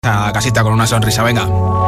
a casita con una sonrisa, venga.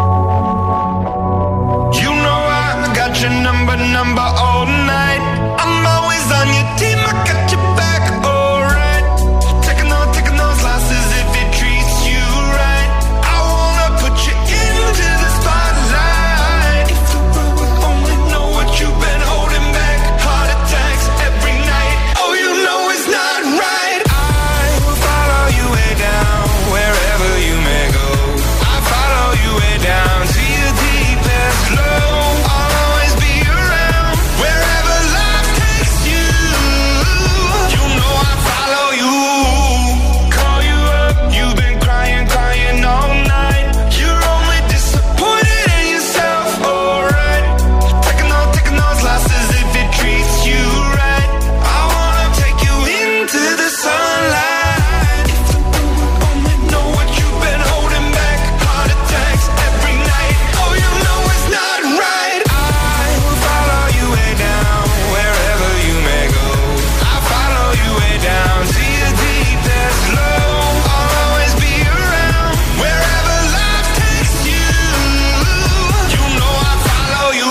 You know I got your number all night. I'm always on your team, I got your back, alright. Taking those losses if it treats you right. I wanna put you into the spotlight. If the world would only know what you've been holding back. Heart attacks every night. Oh, you know it's not right. I will follow you way down, wherever you may go. I follow you way down to your deepest low. I'll always be around, wherever life takes you. You know I follow you. Call you up, you've been crying all night. You're only disappointed in yourself, alright. Taking those losses if it treats you right. I wanna take you into the sunlight. If the world would only know what you've been holding back. Heart attacks every night. Oh, you know it's not right. I will follow you way down, wherever you may go. I follow you way down to your deepest low. I'll always be around, wherever life takes you. You know I follow you.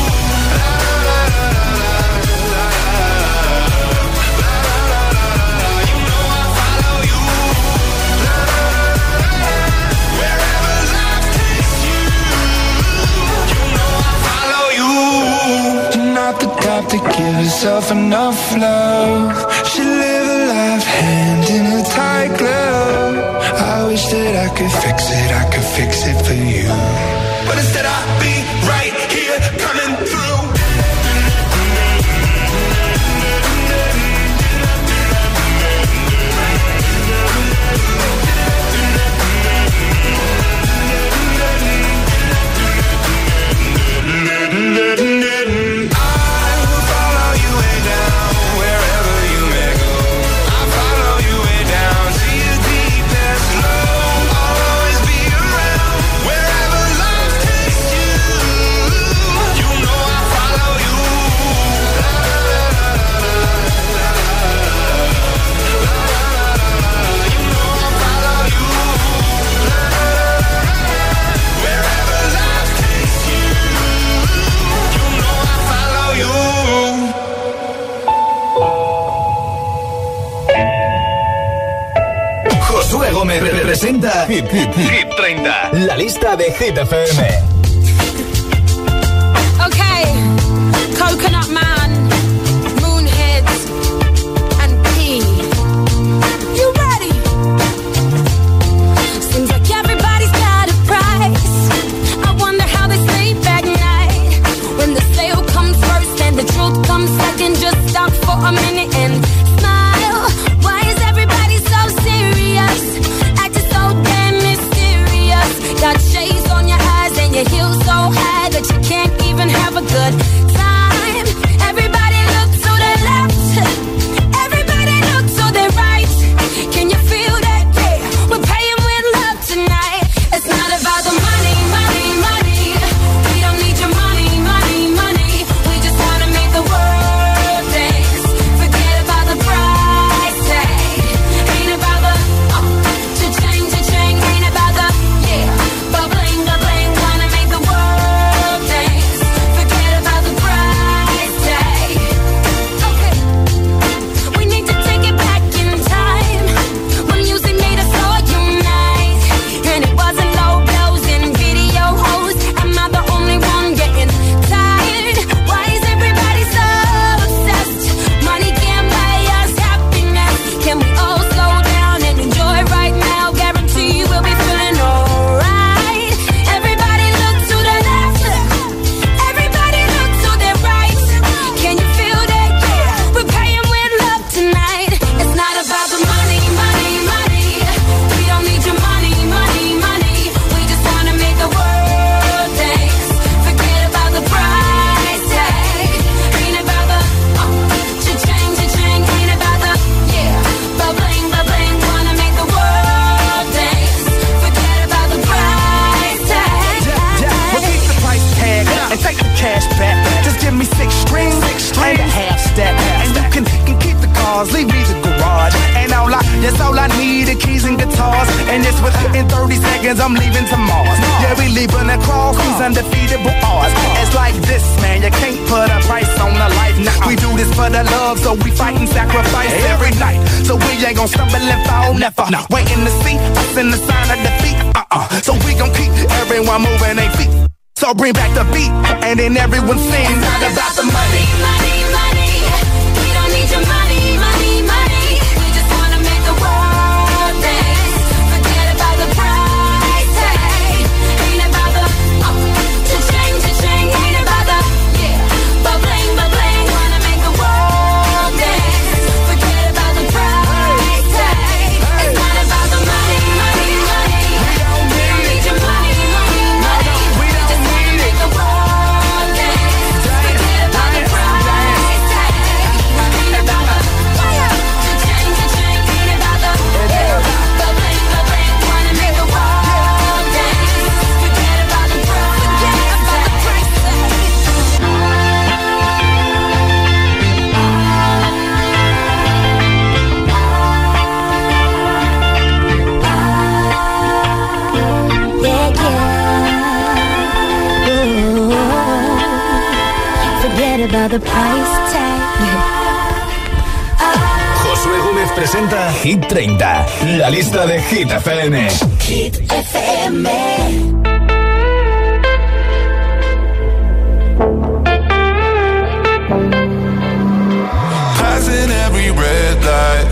You know I follow you. Wherever life takes you. You know I follow you. You're not the type to give yourself enough love. Should live a life hand in a tight glove. I wish that I could fix it for you. But instead I'll be right here coming through. I will follow you way down, wherever you may go. I follow you way down to your deepest low. I'll always be around, wherever life takes you. You know I follow you. You know I follow you. Wherever life takes you. You know I follow you. Josué Gómez representa Hit 30, la lista de Hit FM. Okay, Coconut Man, Moonheads, and P. You ready? Seems like everybody's got a price. I wonder how they sleep at night. When the sale comes first and the truth comes second, just stop for a minute and smile. Why is everybody so serious? Acting so damn mysterious. Got shades on your eyes and your heels so high that you can't even have a good time. Every I'm leaving to Mars. Yeah, we leaving across these undefeatable odds. It's like this, man, you can't put a price on a life. Nah, we do this for the love, so we fight and sacrifice every night. So we ain't gon' stumble and fall, never. Waiting to see us in the sign of defeat. So we gon' keep everyone moving their feet. So bring back the beat, and then everyone sings. It's not about the money, money, money. We don't need your money, money, money. We just wanna make the world dance. Forget about the price tag. Ain't about the cha-ching, cha-ching. Ain't about the ba-bling, ba-bling. Wanna make the world dance. Forget about the price tag. It's not about the money, money, money. We don't need your money, money, money. We just wanna make the world dance. Forget about the price tag. Ain't about the cha-ching, cha-ching. Ain't about the ba-bling, ba-bling. Wanna make the world dance. Forget about the price tag. Forget about the price tag. Josué Gómez presenta Hit 30, la lista de Hit FM. Hit FM. Passing every red light.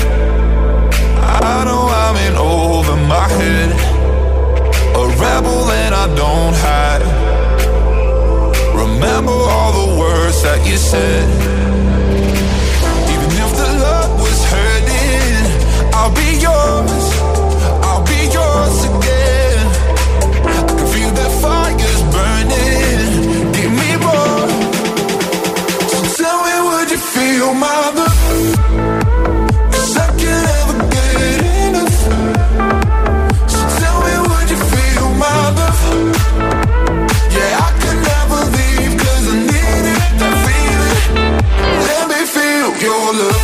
I know I'm in over my head. A rebel and I don't hide. Remember all the words that you said. Even if the love was hurting, I'll be yours. I'll be yours again. I can feel that fire's burning. Give me more. So tell me, would you feel my love? 'Cause I can't ever get enough. So tell me, would you feel my love? Yeah, I could never leave 'cause I needed that feeling. Let me feel your love.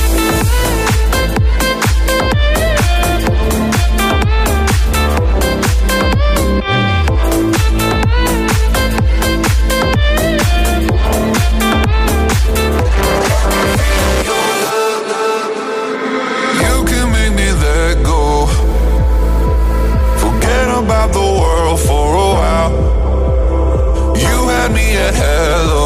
You can make me let go. Forget about the world for a while. You had me at hello.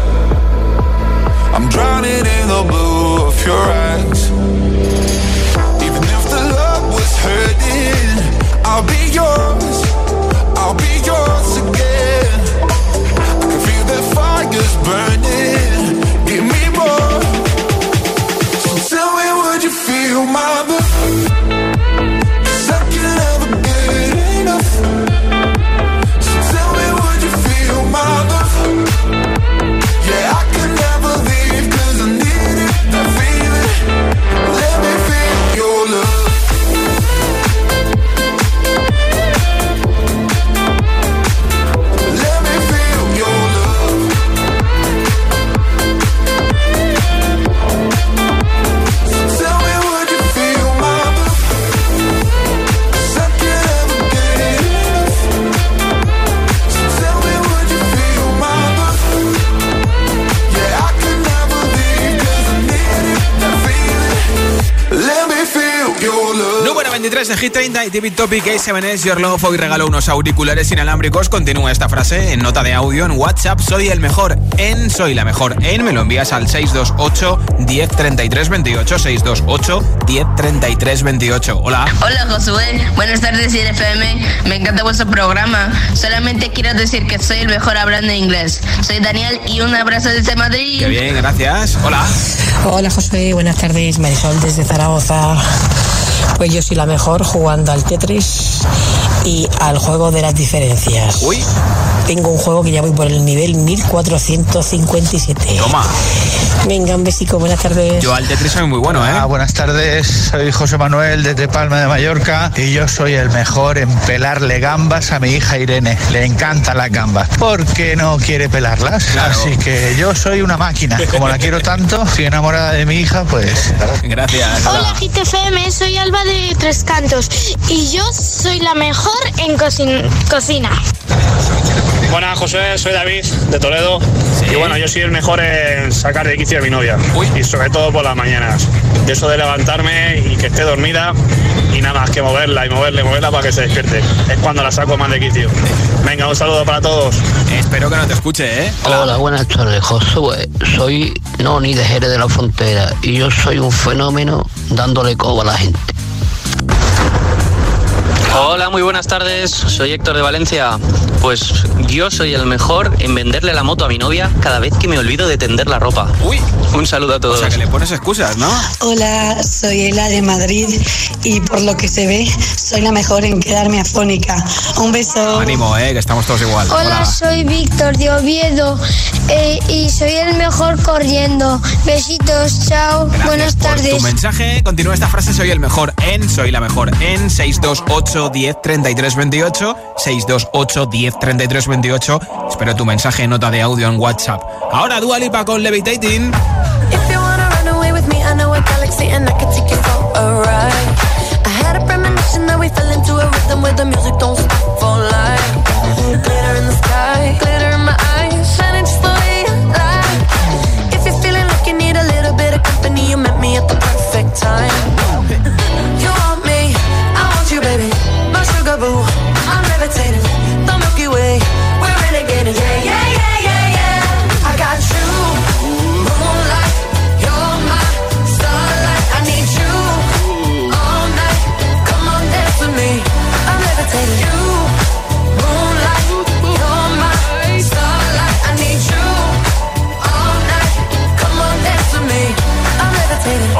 I'm drowning in the blue of your eyes. Even if the love was hurting, I'll be yours. I'll be yours again. I can feel that fire's burning. Give me more. So tell me, would you feel my love? 'Cause I can never get enough. So tell me, would you feel my love? Yeah, I could never leave 'cause I needed that feeling. Let me feel your love. Let me feel your love. So tell me, would you feel my love? 'Cause I can never get enough. So tell me, would you feel my love? Yeah, I could never leave 'cause I needed that feeling. Let me feel your love. Número 23 de Hit 30 y David Topic, A7S, Your Love. Hoy regalo unos auriculares inalámbricos. Continúa esta frase en nota de audio en WhatsApp. Soy el mejor en, soy la mejor en. Me lo envías al 628 10 33 28. 628 10 33 28. Hola. Hola Josué, buenas tardes IFM, me encanta vuestro programa. Solamente quiero decir que soy el mejor hablando inglés. Soy Daniel y un abrazo desde Madrid. Qué bien, gracias. Hola. Hola Josué, buenas tardes, Marisol desde Zaragoza. Pues yo soy la mejor jugando al Tetris y al juego de las diferencias. Uy. Tengo un juego que ya voy por el nivel 1457. Toma. Venga, un besico, buenas tardes. Yo al Tetris soy muy bueno, ¿eh? Buenas tardes, soy José Manuel desde Palma de Mallorca y yo soy el mejor en pelarle gambas a mi hija Irene. Le encantan las gambas porque no quiere pelarlas. Claro. Así que yo soy una máquina. Como la quiero tanto, estoy enamorada de mi hija, pues... Gracias. Hola GTFM, soy Alba de Tres Cantos y yo soy soy la mejor en cocina. Buenas, José, soy David de Toledo. Sí. Y bueno, yo soy el mejor en sacar de quicio a mi novia. Y sobre todo por las mañanas. De eso de levantarme y que esté dormida y nada más que moverla y moverla para que se despierte. Es cuando la saco más de quicio. Venga, un saludo para todos. Espero que no te escuche, ¿eh? Hola, buenas tardes, Josué. Soy Noni de Jerez de la Frontera y yo soy un fenómeno dándole coba a la gente. Hola, muy buenas tardes, soy Héctor de Valencia. Pues yo soy el mejor en venderle la moto a mi novia cada vez que me olvido de tender la ropa. Uy, un saludo a todos. O sea que le pones excusas, ¿no? Hola, soy Ela de Madrid y por lo que se ve soy la mejor en quedarme afónica. Un beso. Ánimo, que estamos todos igual. Hola, soy Víctor de Oviedo y soy el mejor corriendo. Besitos, chao. Gracias buenas tardes. Por tu mensaje, continúa esta frase, soy el mejor en, soy la mejor en 628 10 33 28 628 10 33 28. Espero tu mensaje, nota de audio en WhatsApp. Ahora Dua Lipa con Levitating. If you wanna run away with me, I know a galaxy and I can take you for a ride. I had a premonition that we fell into a rhythm where the music don't stop for life. Glitter in the sky, glitter in my eyes, shining just the way you like. If you're feeling like you need a little bit of company, you met me at the perfect time. You want me, I want you, baby. My sugar boo, I'm levitating. The Milky Way, we're renegading. Yeah, yeah, yeah, yeah, yeah. I got you, moonlight. You're my starlight. I need you all night. Come on, dance with me. I'm levitating. You, moonlight. You're my starlight. I need you all night. Come on, dance with me. I'm levitating.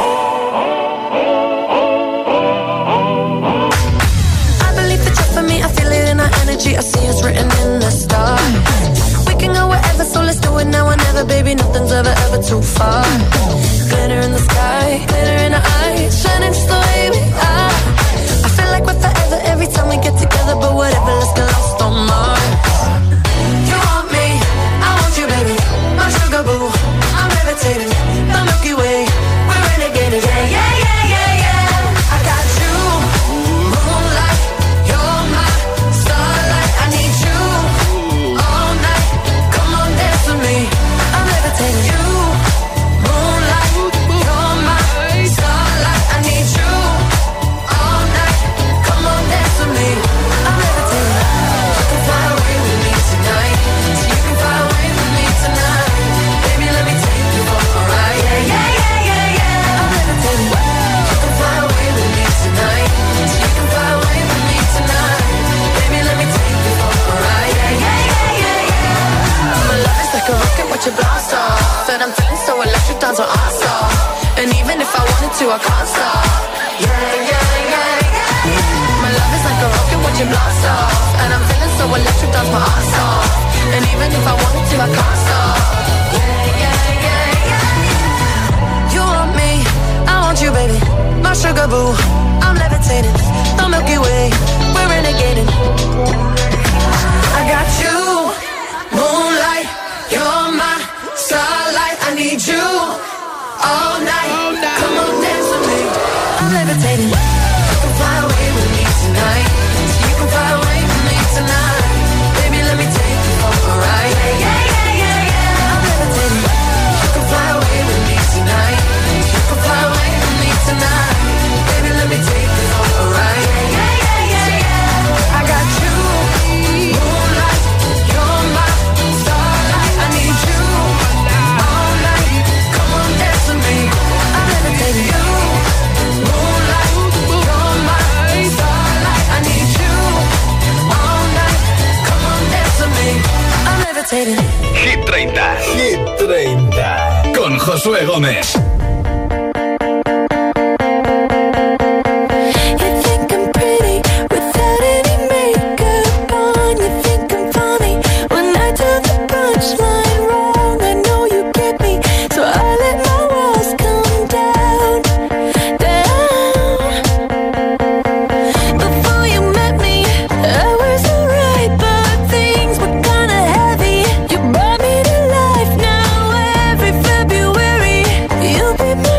I see it's written in the stars. We can go wherever, so let's do it now or never. Baby, nothing's ever too far. Glitter in the sky, glitter in our eyes, shining just the way we are. I feel like we're forever every time we get together, but whatever, let's get lost on Mars. You want me, I want you, baby. My sugar boo, I'm levitating. The Milky Way, we're renegading. Yeah, yeah, yeah, yeah, yeah. I got you, moonlight. You're my starlight. I need you all night. Come on, dance with me. I'm levitating. You, moonlight. You're my starlight. I need you all night. Come on, dance with me. I'm levitating. You can fly away with me tonight. So you can fly away with me tonight. Baby, let me take you for a ride. Yeah, yeah, yeah, yeah, yeah. I'm levitating. You can fly away with me tonight. So you can fly away with me tonight. Baby, let me take you for a ride. Yeah, yeah, yeah, yeah, yeah. My love is like a rocket, watch it blast off. And I'm feeling so electric, dance on our off. And even if I wanted to, I can't stop. Yeah, yeah, yeah, yeah. My love is like a rocket, watch it blast off. And I'm feeling so electric, dance my ass off. And even if I wanted to, I can't stop. Yeah, yeah, yeah, yeah. You want me, I want you, baby. My sugar boo, I'm levitating. The Milky Way, we're renegading. I got you, moonlight. You're my starlight. I need you all night. Come on, dance with me. I'm levitating. You can fly away with me tonight. So you can fly away with me tonight. Baby, let me take you for a ride. Yeah, yeah, yeah, yeah, yeah. I'm levitating. You can fly away with me tonight. You can fly away with me tonight. Baby, let me take you for a ride. Yeah, yeah, yeah, yeah, yeah. I got you, moonlight. You're my starlight. I need you all night. Come on, dance with me. I'm levitating. You, moonlight. You're my starlight. I need you all night. Come on, dance with me. I'm levitating. Hit 30. Hit 30. Con Josué Gómez. You brought me to life now. Every February, you'll be my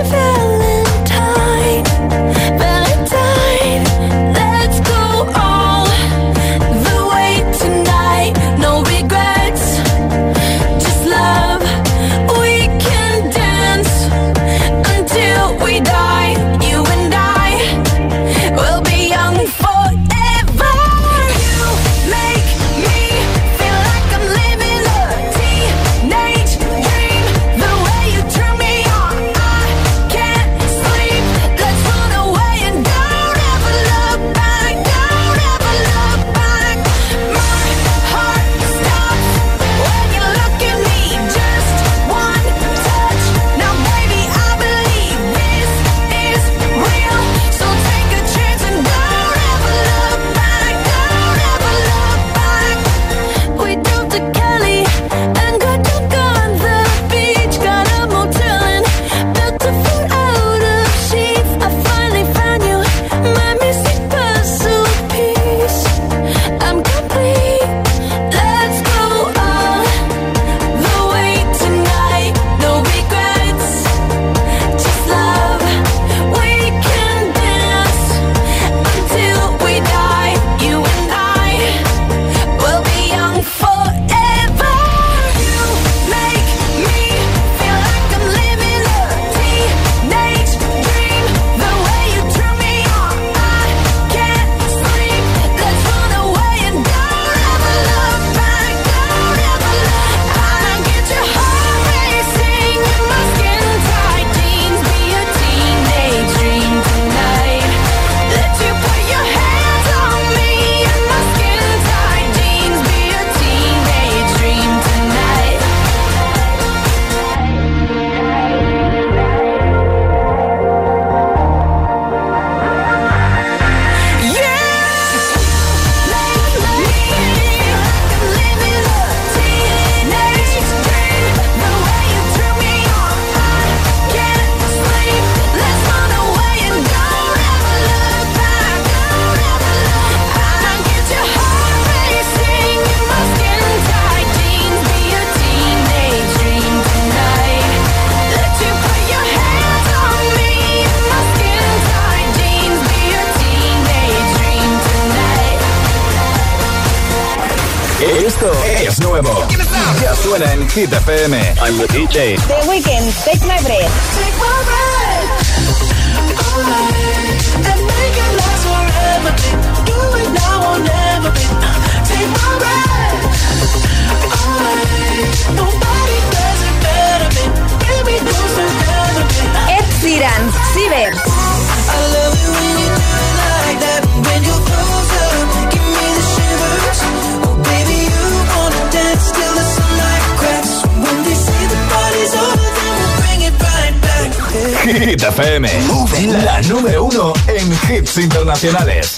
Esto es nuevo. Ya suena en Hit FM. I'm the DJ. The Weeknd, Take My Breath. Take my breath and make it last forever. Do it now or never. Take my breath away. Nobody does it better. Baby, close together. Ed Sheeran, Ciber. I love it when you do it like that. When you're closer, give me the shivers. Oh baby, you wanna dance till the sunlight cracks. When they say the party's over, then we'll bring it right back. Hit FM, la número 1 en hits internacionales.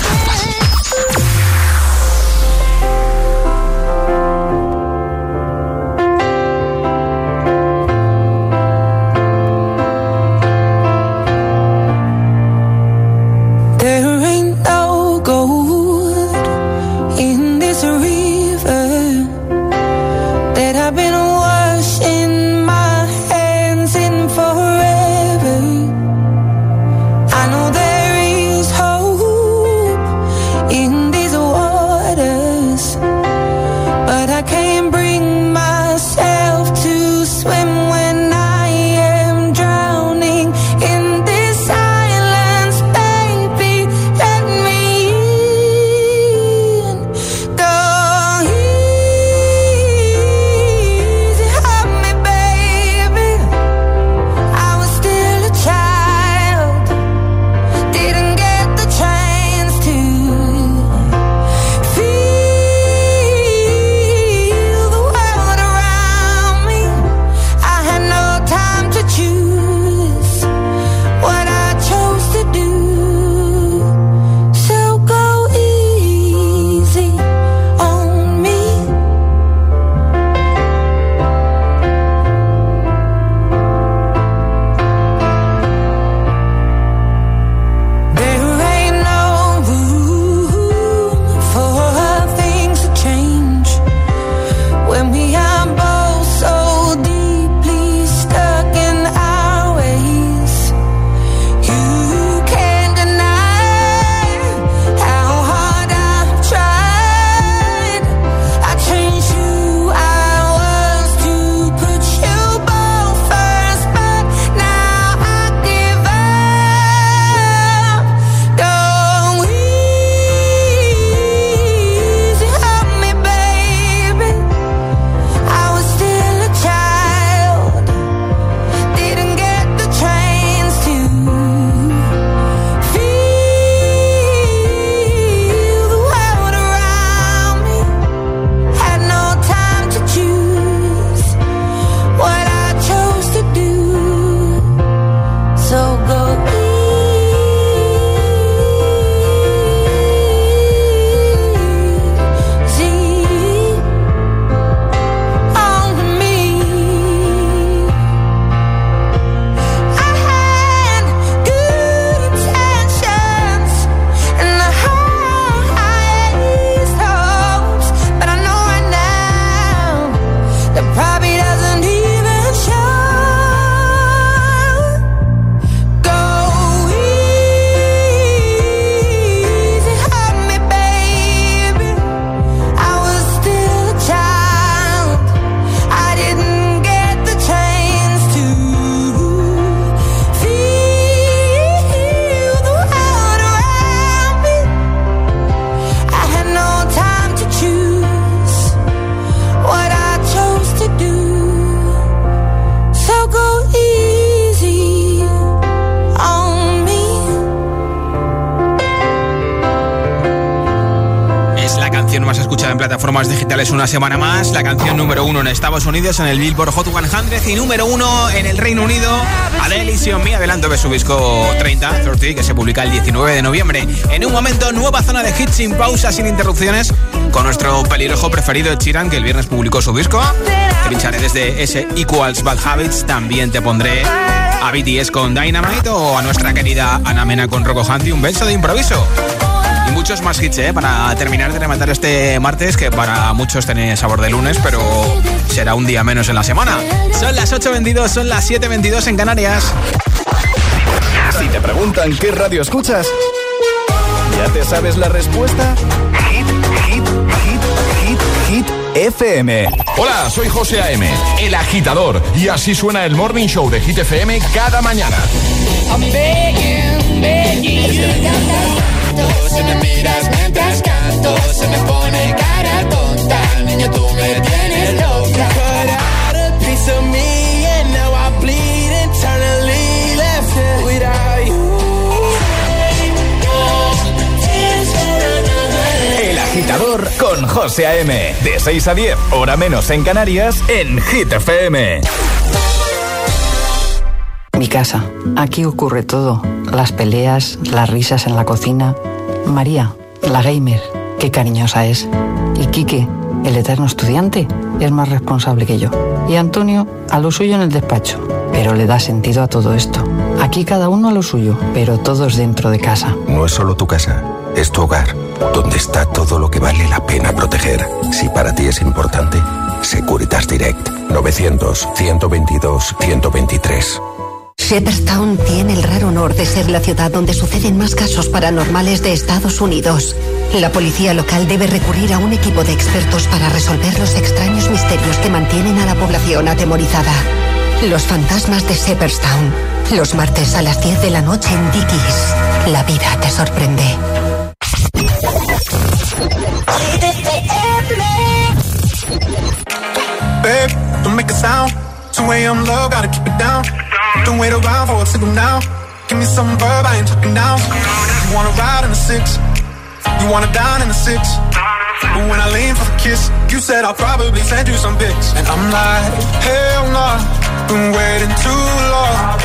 Plataformas digitales una semana más, la canción número 1 en Estados Unidos en el Billboard Hot 100 y número 1 en el Reino Unido. Adele y Me adelanto de su disco 30 que se publica el 19 de noviembre. En un momento, nueva zona de hits sin pausa, sin interrupciones, con nuestro pelirrojo preferido Ed Sheeran, que el viernes publicó su disco. Te pincharé desde ese Equals Bad Habits. También te pondré a BTS con Dynamite o a nuestra querida Ana Mena con Rocco Hunt y un beso de improviso. Y muchos más hits, para terminar de rematar este martes, que para muchos tiene sabor de lunes, pero será un día menos en la semana. Son las 8:22, son las 7:22 en Canarias. Si te preguntan qué radio escuchas, ¿ya te sabes la respuesta? Hit FM. Hola, soy José A.M., el agitador, y así suena el Morning Show de Hit FM cada mañana. I'm begging, begging you. Si me miras mientras canto, se me pone cara tonta. Niño, tú me tienes loca. Cut out a piece of me and now I bleed internally. Left it without you. El agitador con José A.M. De 6 a 10, hora menos en Canarias, en Hit FM. Mi casa. Aquí ocurre todo. Las peleas, las risas en la cocina. María, la gamer, qué cariñosa es. Y Quique, el eterno estudiante, es más responsable que yo. Y Antonio, a lo suyo en el despacho. Pero le da sentido a todo esto. Aquí cada uno a lo suyo, pero todos dentro de casa. No es solo tu casa, es tu hogar, donde está todo lo que vale la pena proteger. Si para ti es importante, Securitas Direct. 900-122-123. Shepherdstown tiene el raro honor de ser la ciudad donde suceden más casos paranormales de Estados Unidos. La policía local debe recurrir a un equipo de expertos para resolver los extraños misterios que mantienen a la población atemorizada. Los fantasmas de Shepherdstown. Los martes a las 10 de la noche en Dickies. La vida te sorprende. Babe, don't make a sound. 2 a.m. love, gotta keep it down. Don't wait around for a signal now. Give me some verb, I ain't talking down. You wanna ride in the 6, you wanna dine in the 6. But when I lean for the kiss, you said I'll probably send you some pics. And I'm like, hell nah, been waiting too long.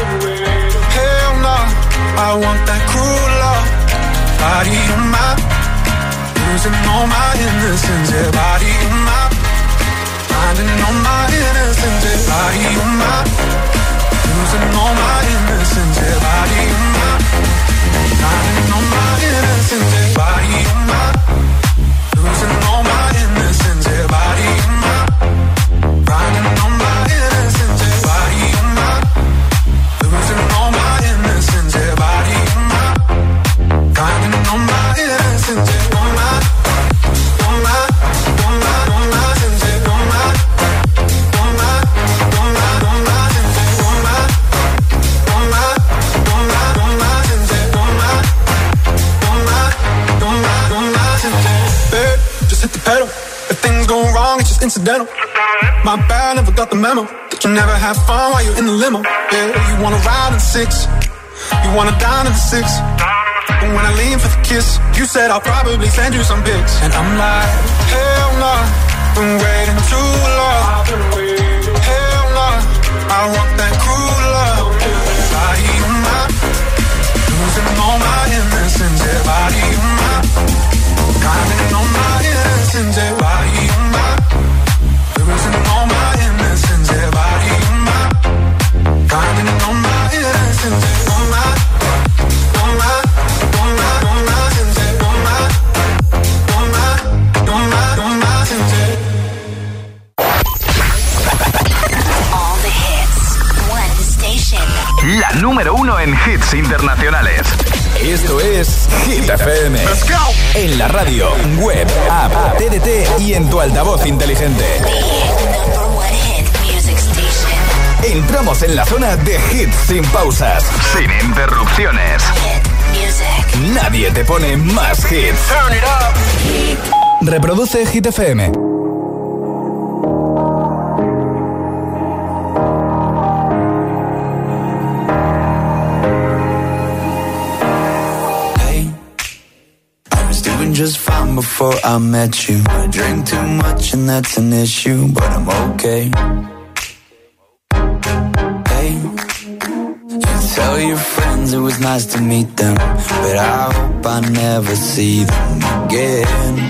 Hell nah, I want that cruel love. Body of mine, losing all my innocence. Yeah, body of mine, finding all my innocence. Yeah, body of mine, losing all my innocence. Yeah, body of mine, finding all my innocence. Yeah, body of mine, losing all my innocence. Yeah, body of mine, finding all my innocence. Yeah, body of mine, losing all my innocence. Yeah, body of mine, finding all my innocence. Yeah, all my, all my, all my, all my innocence. All my, all my, all my, all my innocence. All my, all my, all my, all my innocence. All my, all my, all my, all my innocence. Babe, just hit the pedal. If things go wrong, it's just incidental. My bad, never got the memo that you never have fun while you're in the limo. Yeah, you wanna ride in the 6, you wanna dine in the 6. But when I lean for the kiss, you said I'll probably send you some pics. And I'm like, hell nah, been waiting too long. Hell nah, I want that cruel love. Body of mine, losing all my innocence. Yeah, body of mine, finding all my innocence. Yeah, body of mine, losing all my innocence. Yeah, body of mine, finding all my innocence. Yeah, all my, all my, all my, all my innocence. Yeah, all my, all my, all my, all my innocence. All the hits, one station. La número 1 en hits internacionales. Esto es Hit FM. Let's go. En la radio, web, app, TDT y en tu altavoz inteligente. Number one hit music station. Entramos en la zona de hits sin pausas, sin interrupciones. Hit music. Nadie te pone más hits. Turn it up. Reproduce Hit FM. Just fine before I met you. I drink too much and that's an issue, but I'm okay. Hey, you tell your friends it was nice to meet them, but I hope I never see them again.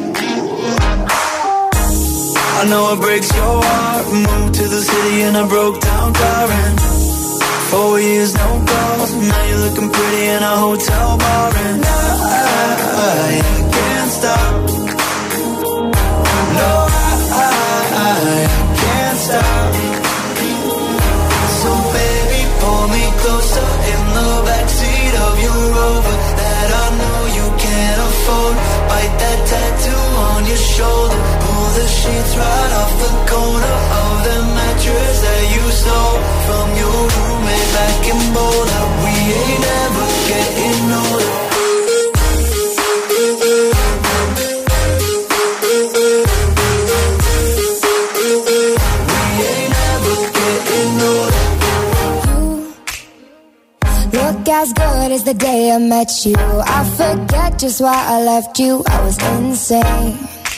I know it breaks your heart. Moved to the city in a broke down car and 4 years no calls. Now you're looking pretty in a hotel bar and I can't stop. No, I can't stop. So baby, pull me closer in the backseat of your Rover that I know you can't afford. Bite that tattoo on your shoulder. Pull the sheets right it is the day I met you. I forget just why I left you. I was insane.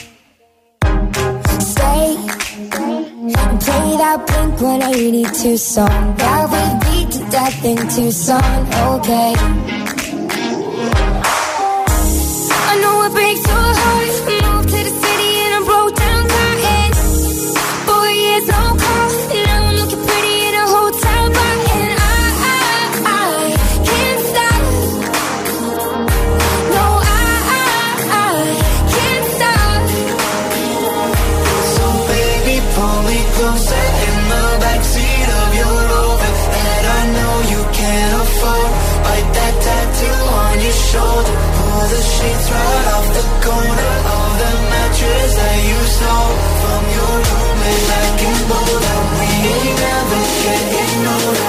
Stay and play that Blink-182 song that we beat to death in Tucson. Okay. I know it breaks your heart. Moved to the city and I broke down crying. 4 years no call. Now I'm looking pretty in a hotel bar. And I can't stop. No, I can't stop. So baby, pull me closer in the backseat of your Rover that I know you can't afford. Bite that tattoo on your shoulder. Pull the sheets right off the corner of the mattress that you stole from your roommate back in Boulder. We ain't never getting older.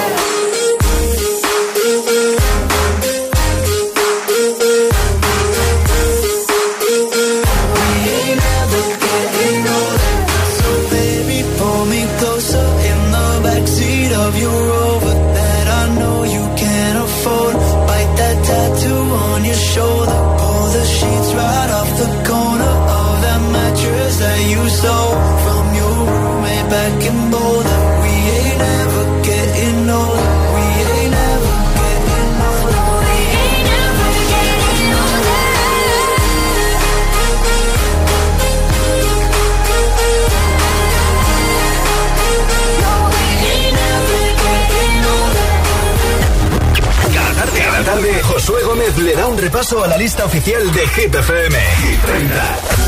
We ain't never getting older. So baby, pull me closer in the backseat of your Rover that I know you can't afford. Bite that tattoo on your shoulder. Pull the sheets right off the corner of that mattress that you stole from your roommate back in Boulder. We ain't ever getting older. We ain't ever getting older. We ain't ever getting older. Cada tarde, Josué Gómez le da un repaso a la lista oficial de Hit FM. Hit 30.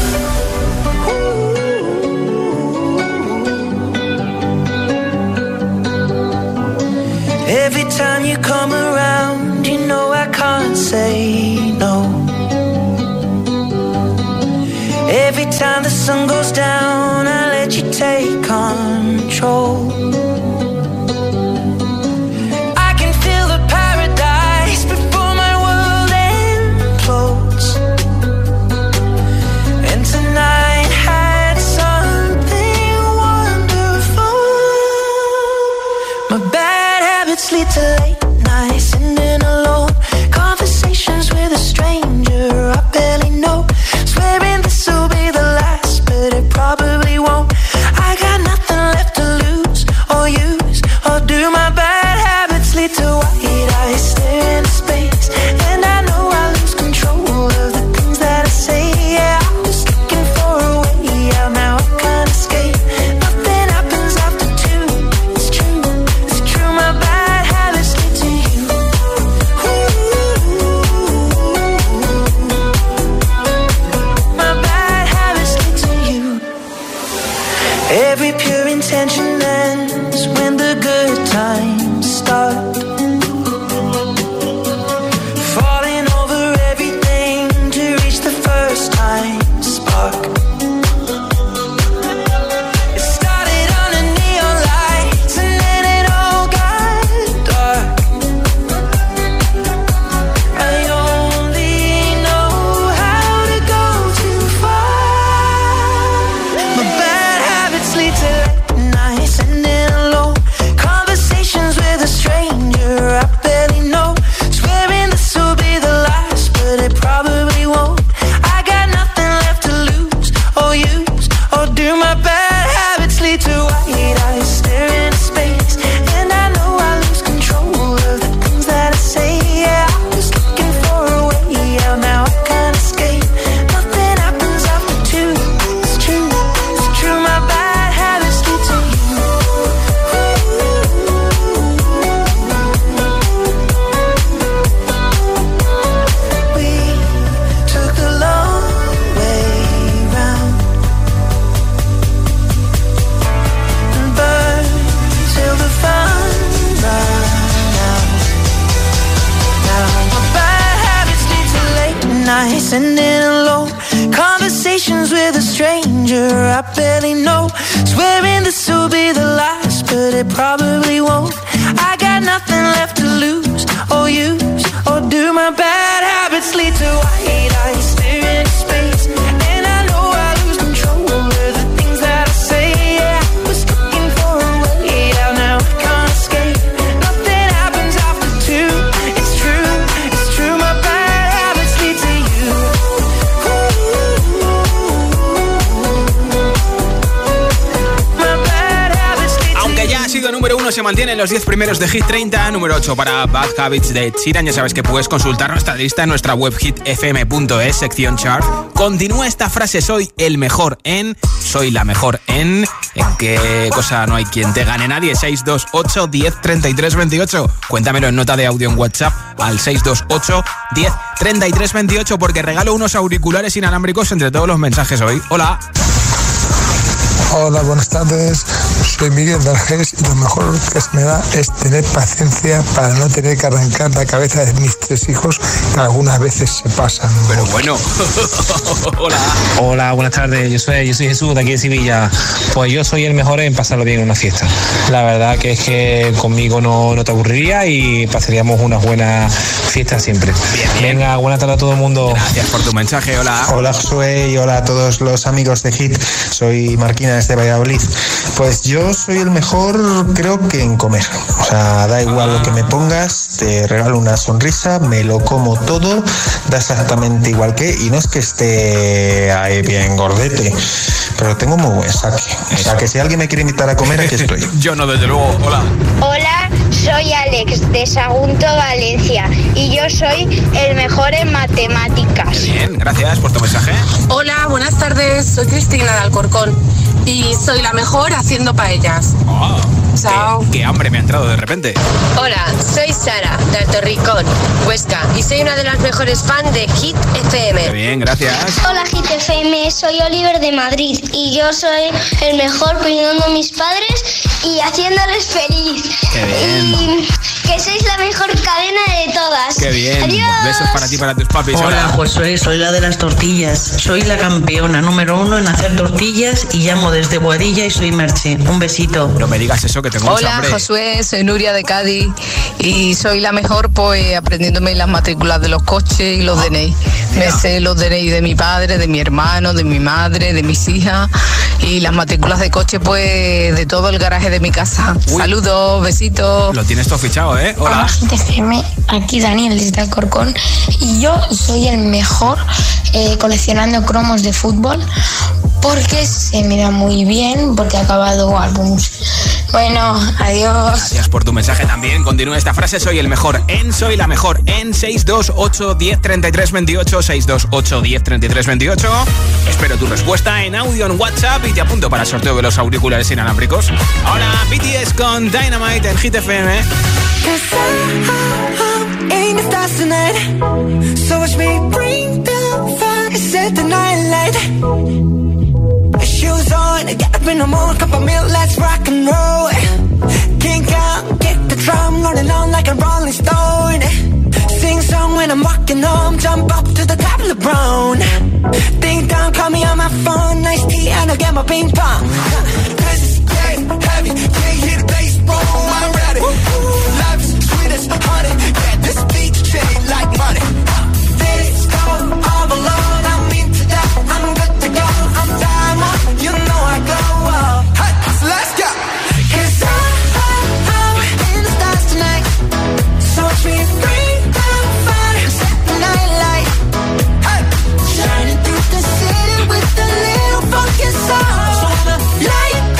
Every time you come around, you know I can't say no. Every time the sun goes down, I let you take control. I can feel the paradise before my world implodes. And tonight had something wonderful. My bad habits lead to late nights, sitting alone. Conversations with a stranger I barely know. Swearing this will be the last, but it probably won't. I got nothing left to lose or use or do. My bad habits lead to white eyes staring into space, and I know I lose control of the things that I say. Yeah, I was looking for a way out, now I can't escape. Nothing happens after two. It's true, it's true. My bad habits lead to you. My bad habits lead to you. Every pure intention ends when the good times start. Falling over everything to reach the first time spark. It started under neon lights and then it all got dark. I only know how to go too far. My bad habits lead to late nights, sitting alone. Conversations with a stranger I barely know. Swearing this will be the last, but it probably won't. I got nothing left to lose or use or do. My bad habits lead to white eyes staring into space, and I know I lose control of the things that I say. Yeah, I was looking for a way out, now I can't escape. Nothing happens after two. It's true, it's true. My bad habits lead to you. We took the long way round and burned till the fun ran out. Now my bad habits lead to late nights, sitting alone. Conversations with a stranger I barely know. Swearing this will be the last, but it probably won't. I got nothing left to lose or use or do. My bad habits lead to white eyes staring into space, and I know I lose control of the things that I say. Yeah, I was looking for a way out, now I can't escape. Nothing happens after two. It's true, 1 se mantiene en los 10 primeros de Hit 30, número 8 para Bad Habits de Ed Sheeran. Ya sabes que puedes consultar nuestra lista en nuestra web hitfm.es, sección chart. Continúa esta frase: soy el mejor en, soy la mejor en qué cosa no hay quien te gane nadie. 628 10 33 28. Cuéntamelo en nota de audio en WhatsApp al 628 10 33 28, porque regalo unos auriculares inalámbricos entre todos los mensajes hoy. Hola. Hola, buenas tardes. Soy Miguel de Argés y lo mejor que se me da es tener paciencia para no tener que arrancar la cabeza de mis 3 hijos, que algunas veces se pasan. Pero bueno. Hola. Hola, buenas tardes. Yo soy Jesús de aquí de Sevilla. Pues yo soy el mejor en pasarlo bien en una fiesta. La verdad que es que conmigo no te aburriría y pasaríamos unas buenas fiestas siempre. Bien. Venga, buenas tardes a todo el mundo. Gracias por tu mensaje. Hola. Hola, Josué, y hola a todos los amigos de Hit. Soy Marquina desde Valladolid. Pues yo soy el mejor, creo que en comer. O sea, da igual lo que me pongas, te regalo una sonrisa, me lo como todo, da exactamente igual que, y no es que esté ahí bien gordete, pero tengo muy buen saque. O sea, que si alguien me quiere invitar a comer, aquí estoy. Yo no, desde luego. Hola. Hola, soy Alex de Sagunto, Valencia, y yo soy el mejor en matemáticas. Bien, gracias por tu mensaje. Hola, buenas tardes, soy Cristina de Alcorcón y soy la mejor haciendo paellas. Oh, chao. Qué hambre me ha entrado de repente. Hola, soy Sara de Altorricón, Huesca, y soy una de las mejores fans de Hit FM. Qué bien, gracias. Hola, Hit FM, soy Oliver de Madrid y yo soy el mejor cuidando a mis padres y haciéndoles feliz. Qué bien. Y que sois la mejor cadena de todas. Qué bien. Adiós. Besos para ti y para tus papis. Hola, Josué, soy la de las tortillas. Soy la campeona número 1 en hacer tortillas y llamo desde Boadilla y soy Merche. Un besito. No me digas eso, que tengo mucha hambre. Hola, Josué, soy Nuria de Cádiz y soy la mejor pues aprendiéndome las matrículas de los coches y los DNI. Me sé los DNI de mi padre, de mi hermano, de mi madre, de mis hijas y las matrículas de coche pues de todo el garaje de mi casa. Uy. Saludos, besitos. Lo tienes todo fichado, ¿eh? Hola. Hola, GTFM, aquí Daniel desde Alcorcón y yo soy el mejor coleccionando cromos de fútbol porque se me da muy bien, porque he acabado álbumes. Bueno, adiós. Gracias por tu mensaje también. Continúa esta frase: soy el mejor en, soy la mejor en. 628 10 33 28, 628 10 33 28. Espero tu respuesta en audio en WhatsApp y te apunto para el sorteo de los auriculares inalámbricos. Ahora BTS con Dynamite en Hit FM. Shoes on, get up in the morning, cup of milk, let's rock and roll. Kink out, kick the drum, rolling on like a rolling stone. Sing song when I'm walking home, jump up to the top of the brown. Ding dong, call me on my phone, nice tea and I'll get my ping pong. This is getting heavy, can't hear the bass, boom, I'm ready. Life's sweet as honey, yeah, this beat shade like money. This go all alone, I'm into that, I'm good to go, I'm diamond, you know I glow. Hey, so let's go. 'Cause I'm in the stars tonight, so watch me bring down fire, set the night light. Hey, shining through the city with a little funky soul. So I'ma light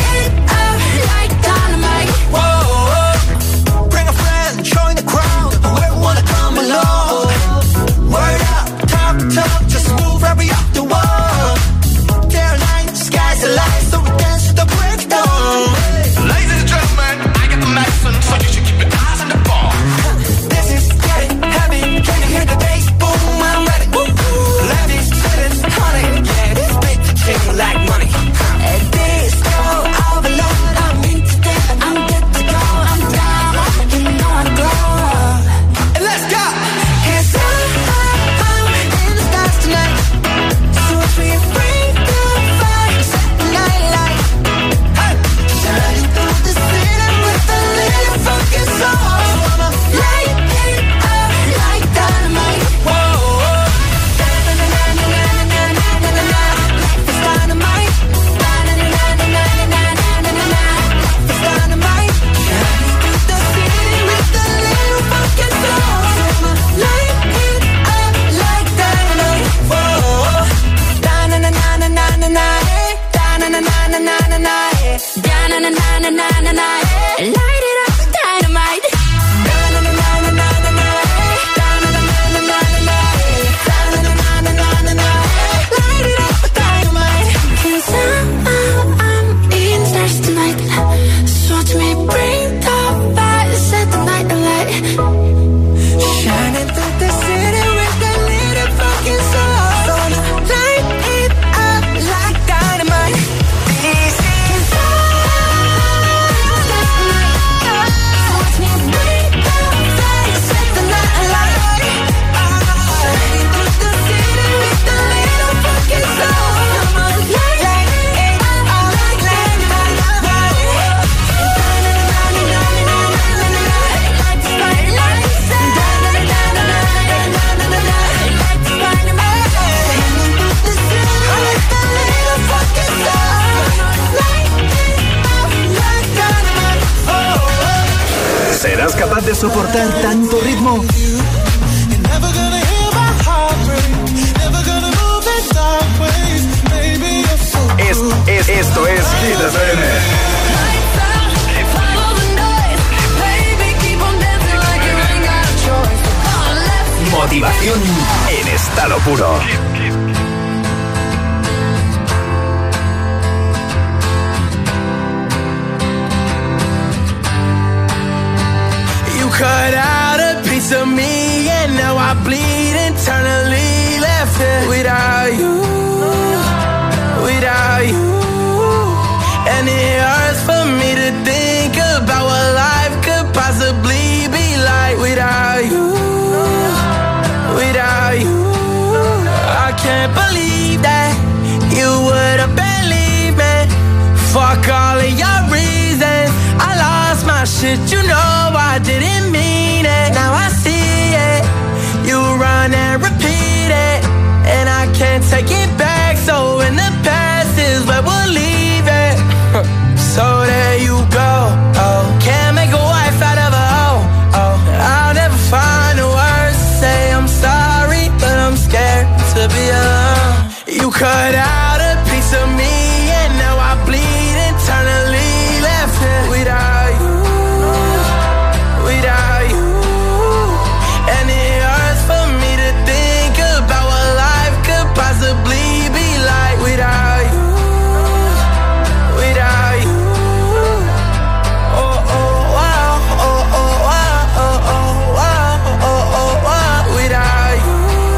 soportar tanto ritmo? Esto es Hit FM. Motivación en estado puro. You cut out a piece of me and now I bleed internally. Left it without you, without you. And it hurts for me to think about what life could possibly be like without you, without you. I can't believe that you would have believed me. Fuck all of your reasons. I lost my shit, you know I didn't mean it. Now I see it. You run and repeat it, and I can't take it back. So in the past is where we'll leave it. So there you go. Oh, can't make a wife out of a hoe. Oh, I'll never find the words to say I'm sorry, but I'm scared to be alone. You cut out a piece of me and now I bleed internally. Left it without you, without you. And it hurts for me to think about what life could possibly be like without you, without you. Oh, oh, wow, oh, oh, wow, oh, oh, wow, oh, oh, wow. Without you,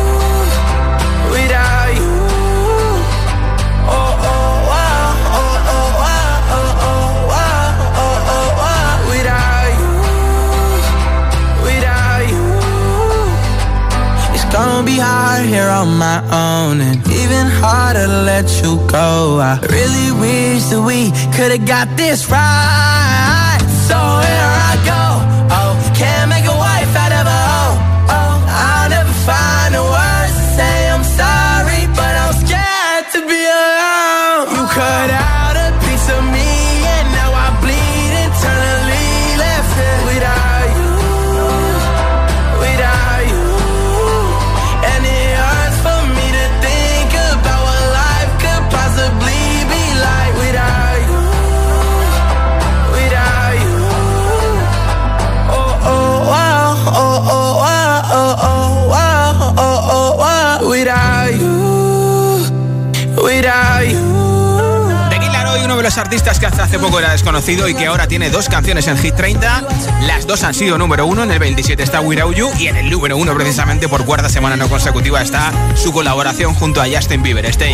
without you. Oh, oh, wow, oh, oh, wow, oh, oh, wow, oh, oh, wow. Without you, without you. It's gonna be hard here on my own, and even harder to let you go. I really wish that we could've got this right. So here I go. Oh, can't make a wife out of a hoe. Oh, I'll never find the words to say I'm sorry, but I'm scared to be alone. You cut out a piece of me and now I bleed internally. Left it without you, without you. And it hurts for me to think about what life could possibly be like without you, without you. Oh, oh, wow, oh, oh, wow, oh, oh, wow, oh, oh, wow. Without you, without you. The Kid Laroi, uno de los artistas que hasta hace poco era desconocido y que ahora tiene 2 canciones en Hit 30. Las 2 han sido número 1. En el 27 está Without You y en el número 1 precisamente por cuarta semana no consecutiva está su colaboración junto a Justin Bieber. Stay.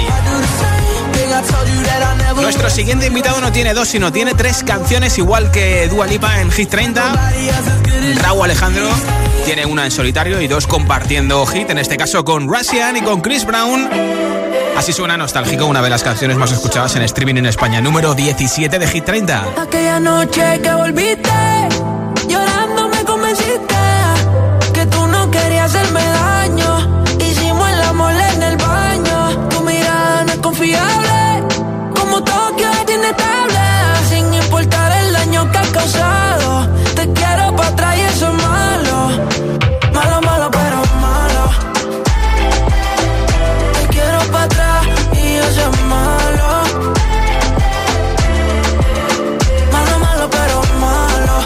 Nuestro siguiente invitado no tiene 2 sino tiene 3 canciones igual que Dua Lipa en Hit 30. Rauw Alejandro tiene una en solitario y 2 compartiendo hit, en este caso con Russian y con Chris Brown. Así suena Nostálgico, una de las canciones más escuchadas en streaming en España, número 17 de Hit 30. Aquella noche que volviste, llorando me convenciste que tú no querías hacerme daño. Hicimos el amor en el baño. Tu mirada no es confiable, como Tokio es inestable. Sin importar el daño que has causado, te quiero para atrás y eso es malo. Malo, malo, pero malo. Te quiero para atrás y eso es malo. Malo, malo, pero malo.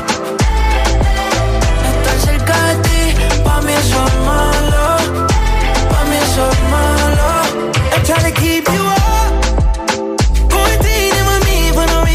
Estar cerca de ti, pa' mí eso es malo. Pa' mí eso es malo. I'm trying to keep you up, quarantining with me for no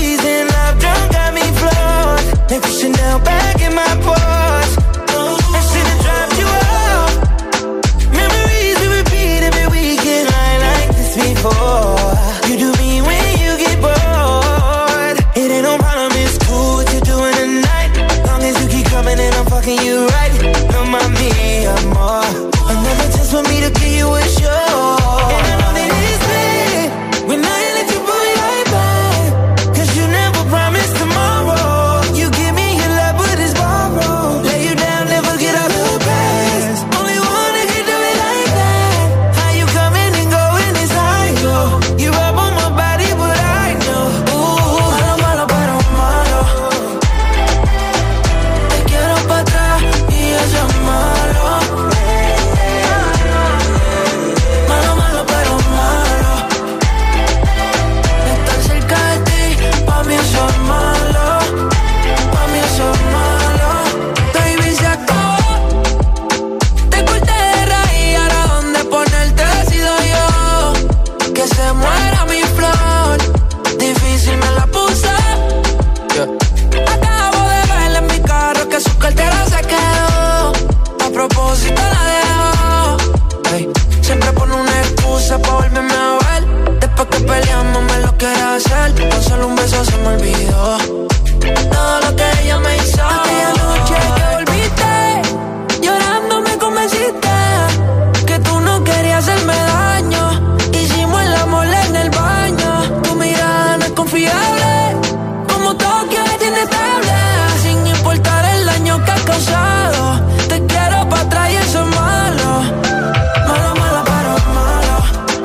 yo quería hacer, con solo un beso se me olvidó todo lo que ella me hizo. Aquella noche que volviste, llorando me convenciste que tú no querías hacerme daño. Hicimos el amor en el baño. Tu mirada no es confiable, como Tokio es inestable. Sin importar el daño que has causado, te quiero pa' atrás y eso es malo. Malo, malo, pero malo.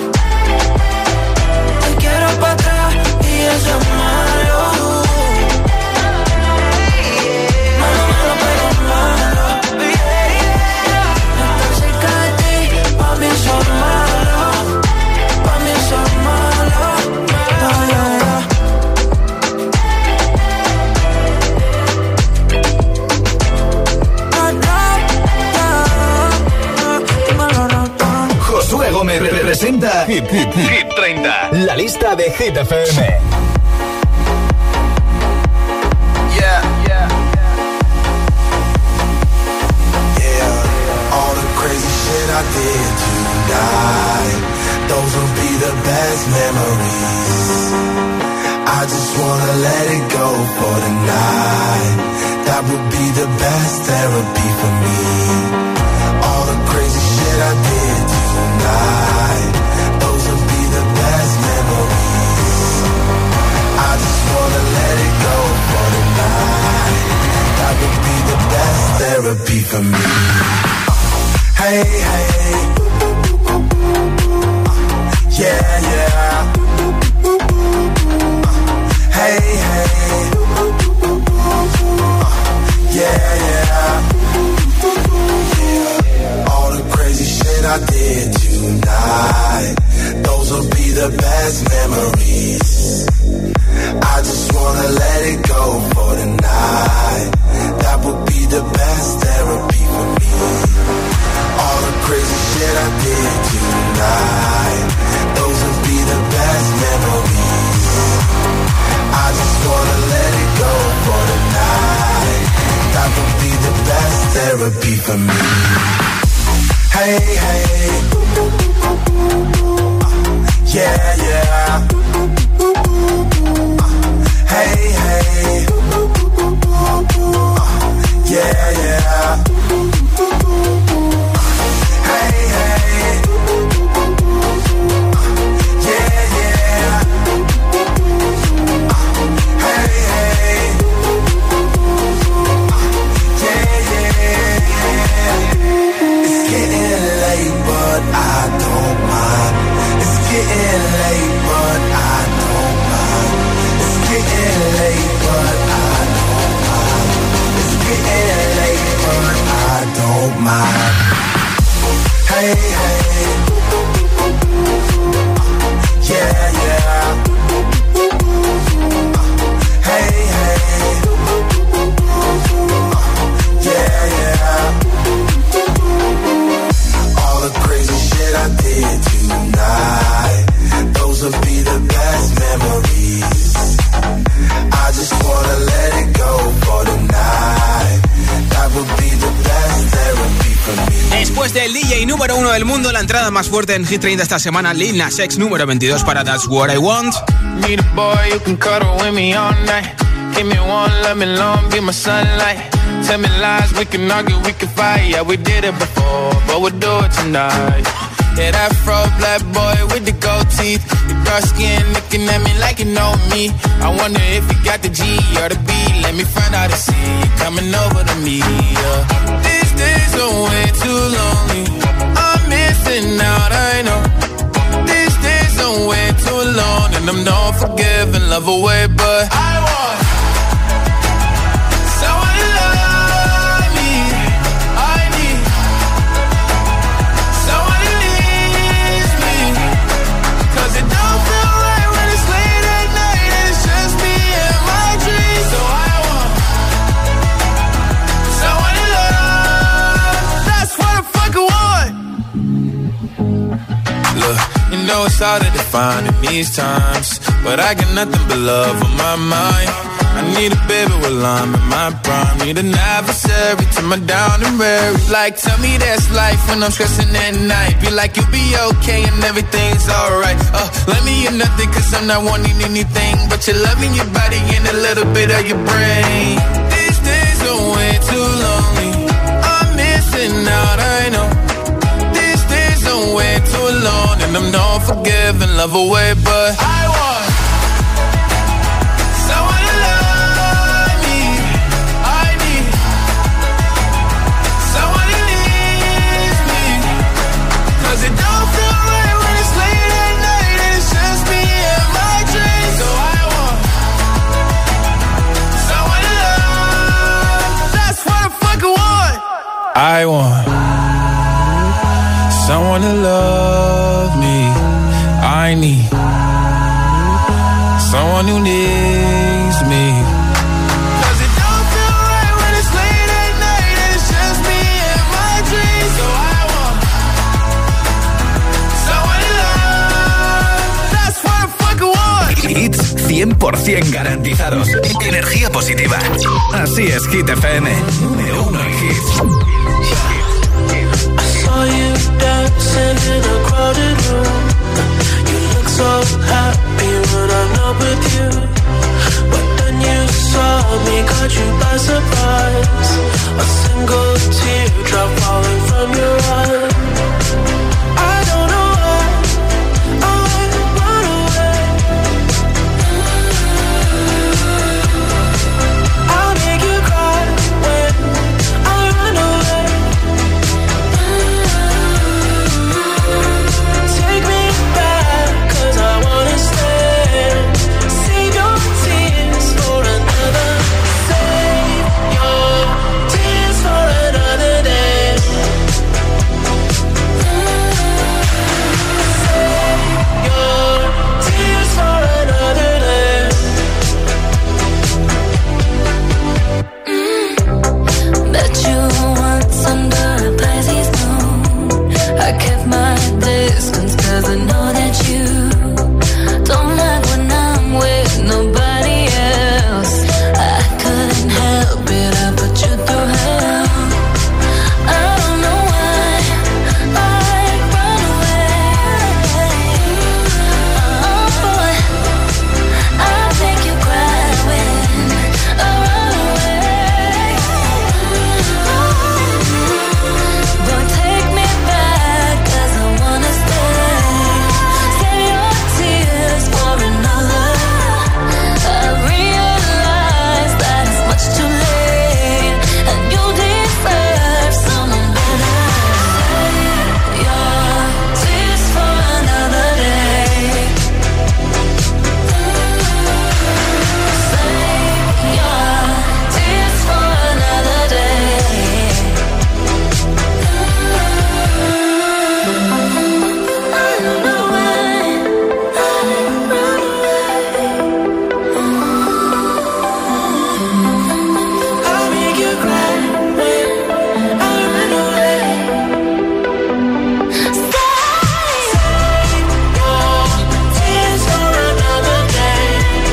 Te quiero pa' atrás y eso es malo. Malo, malo, pero malo. Estar cerca de ti, pa' mí eso es malo. Pa' mí eso es malo. Josué Gómez representa Hit 30, la lista de Hit FM. All the crazy shit I did tonight, those will be the best memories. I just wanna let it go for tonight. That would be the best therapy for me. All the crazy shit I did tonight, those will be the best memories. I just wanna let it go for tonight. That would be the best therapy for me. Hey, hey, yeah, yeah. Hey, hey, yeah, yeah. All the crazy shit I did tonight, those will be the best memories. I just wanna let it go for tonight. That would be the best therapy for me. All the crazy shit I did tonight, those will be the best memories. I just wanna let it go for tonight. That would be the best therapy for me. Hey, hey, yeah, yeah. Hey, hey, yeah, yeah. Hey, hey, yeah, yeah. Hey, hey, yeah, yeah. It's getting late, but I don't mind. It's getting late, but I don't mind. It's getting late, but I don't mind. It's getting late, but I don't mind. Hey, hey, yeah, yeah. Hey, hey, yeah, yeah. All the crazy shit I did tonight, those will be the best memories. I just wanna let it go for tonight. That would be the best therapy for me. Después del DJ número 1 del mundo, la entrada más fuerte en Hit 30 esta semana, Lil Nas X número 22 para That's What I Want. Need a boy you can cuddle with me all night. Give me one, let me long, be my sunlight. Tell me lies, we can argue, we can fight. Yeah, we did it before, but we'll do it tonight. Yeah, that fro black boy with the gold teeth. The dark skin looking at me like you know me. I wonder if you got the G or the B. Let me find out and see you coming over to me. Yeah. These days are way too lonely. I'm missing out, I know. These days are way too long, and I'm not forgiving, love away, but I want someone to love me. I need someone who needs me. 'Cause it don't feel right when it's late at night and it's just me and my dreams. So I want someone to love. That's what I fucking want. Look, you know it's hard to define in these times, but I got nothing but love on my mind. I need a baby while I'm in my prime. Need an adversary to my down and weary. Like, tell me that's life when I'm stressing at night. Be like, you'll be okay and everything's alright. Let me in nothing cause I'm not wanting anything but your love in your body and a little bit of your brain. These days are way too lonely. I'm missing out, I know. These days are way too long and I'm not forgiving, love away, but I want someone to love me. I need someone who needs me. Cause it don't feel right when it's late at night and it's just me and my dreams. So I want someone to love. That's what I fucking want. I want someone to love me. I need someone who needs me. Cause it don't feel right when it's late at night and it's just me and my dreams. So I want someone to love. That's what I fucking want. Hits 100% garantizados. Energía positiva. Así es, Hit FM. Número 1 en hits. Saw you dancing in a crowded room. You look so happy when I'm not with you. But then you saw me, caught you by surprise. A single teardrop falling from your eye. I don't know why I run away. I'll make you cry when I run away. Take me back, cause I wanna stay. Save your tears for another. Save your tears for another day. Save your tears for another day. Bet you once under a Pisces moon I kept my distance cause I know that you don't like when I'm with nobody else. I couldn't help it, I put you through hell. I don't know why I run away. Oh boy, I'll make you cry when I run away. But take me back cause I wanna stay. Save your tears for another. I realize that it's much too late and you deserve someone better. Save your tears for another day. Save your tears for another day. I don't know why I run away. I'll make you cry when I run away. Save your tears for another day.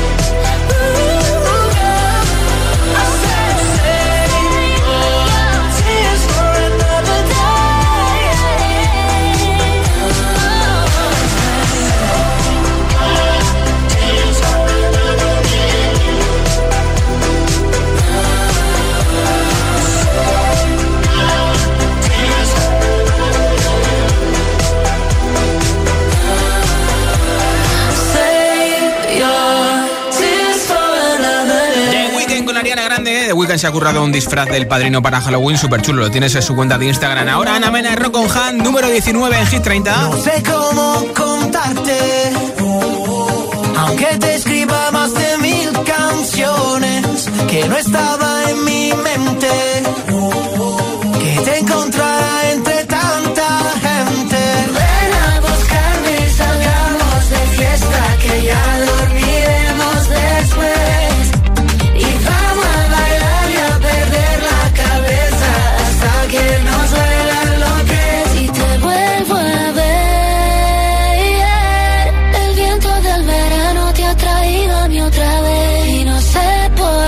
I said save your tears for another day. Tears for another Save your tears for another day. The Weeknd con Ariana Grande. The Weeknd se ha currado un disfraz del Padrino para Halloween súper chulo. Lo tienes en su cuenta de Instagram. Ahora Ana Mena, Rock on Han, número 19 en Hit 30. No sé cómo contarte, aunque te escriba más de 1000 canciones, que no estaba en mi mente, que te encontrara entre tanta gente. Ven a buscarme y salgamos de fiesta, que ya dormiremos después. Y vamos a bailar y a perder la cabeza hasta que nos duela lo que. Si te vuelvo a ver, el viento del verano te ha traído a mí otra vez. Y no sé por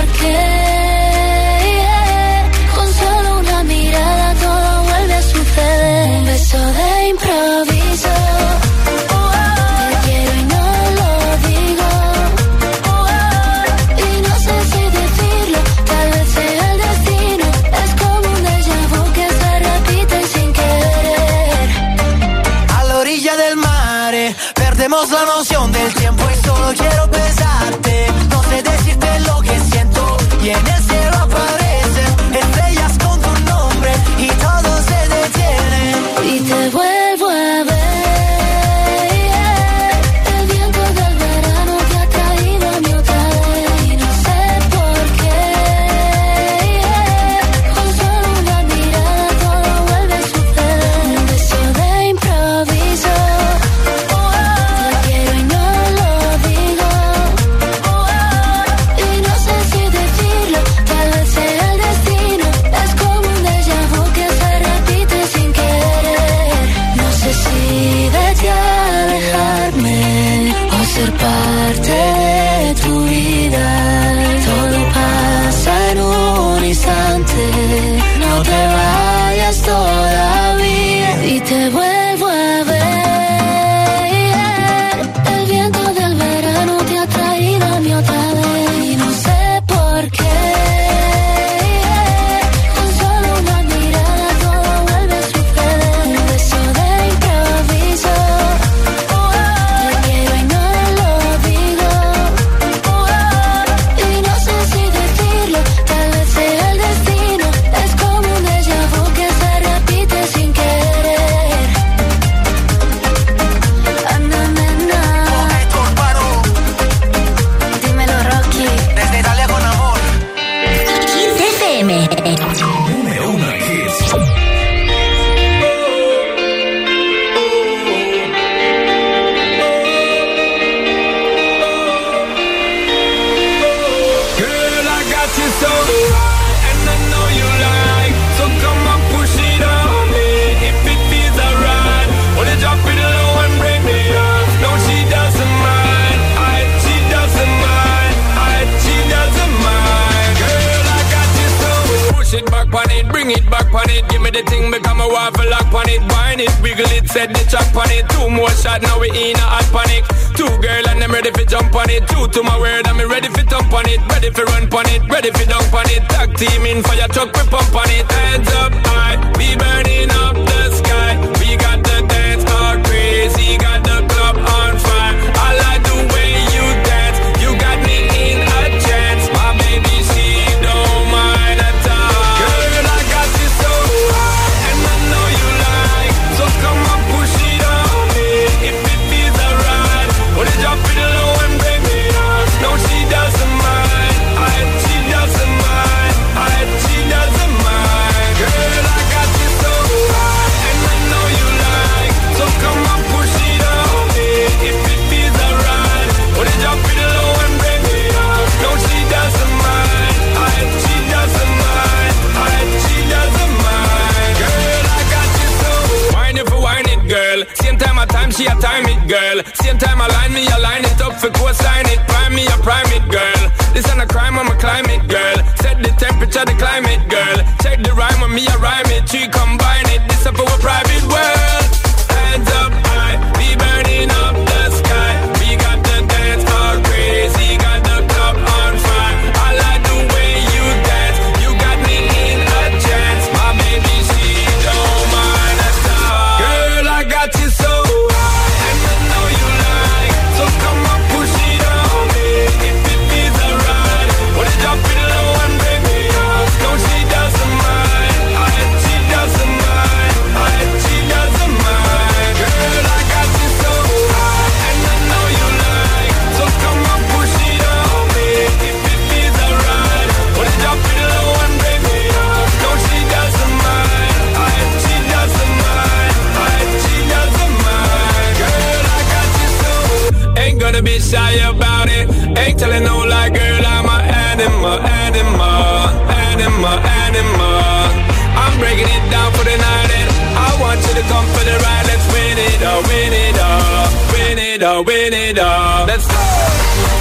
it back on it. Give me the thing, become a waffle lock on it. Wine it, wiggle it, set the track on it. 2 more shots, now we in a hot panic. 2 girl and I'm ready for jump on it. 2 to my word, I'm ready for thump on it. Ready for run on it, ready for dunk on it. Tag team in fire truck, we pump on it. Hands up high, we burning up the sky. We got the dance all crazy, got the club on fire. I like the way you dance, you got me in a trance. My baby, she don't mind at all. Girl, I got you so high, and I know you like. So come on, push it on me, if it feels alright. Put it up in low and bring me up. No, she doesn't mind, she doesn't mind, she doesn't mind. Girl, I got you so high, and I know you like. So come on, push it on me, if it feels alright. Put it up in low and bring me up. No, she doesn't mind, she doesn't mind, she doesn't mind. Girl, I got you so. Wine it for wine it, girl. Same time a time, she a time it, girl. Same time I line me, I line it up for co-sign it. Prime me, I prime it, girl. This ain't a crime, I'm a climate, girl. Set the temperature, the climate, girl. Check the rhyme with me, I rhyme it. 3 combine it, this up our private world. Hands up high, we burning up the sky. We got the dance all crazy, got the club on fire. I like the way you dance, you got me in a trance. My baby, she don't mind at all. Girl, I got you so high, and I know you like. So come on, push it on me, if it feels alright. Put it up in low and bring me up. No, she doesn't mind, she doesn't mind, she doesn't mind. Girl, I got you so high, and I know you like. So come on, push it on me, if it feels alright. Put it up in low and bring me up. No, she doesn't mind, she doesn't mind, she doesn't mind. Girl, I got you so. Ain't gonna be shy about it. Ain't telling no lie, girl, I'm an animal, animal, animal, animal. I'm breaking it down for the night, and I want you to come for the ride. Let's win it all, win it all, win it all, win it all. Let's go.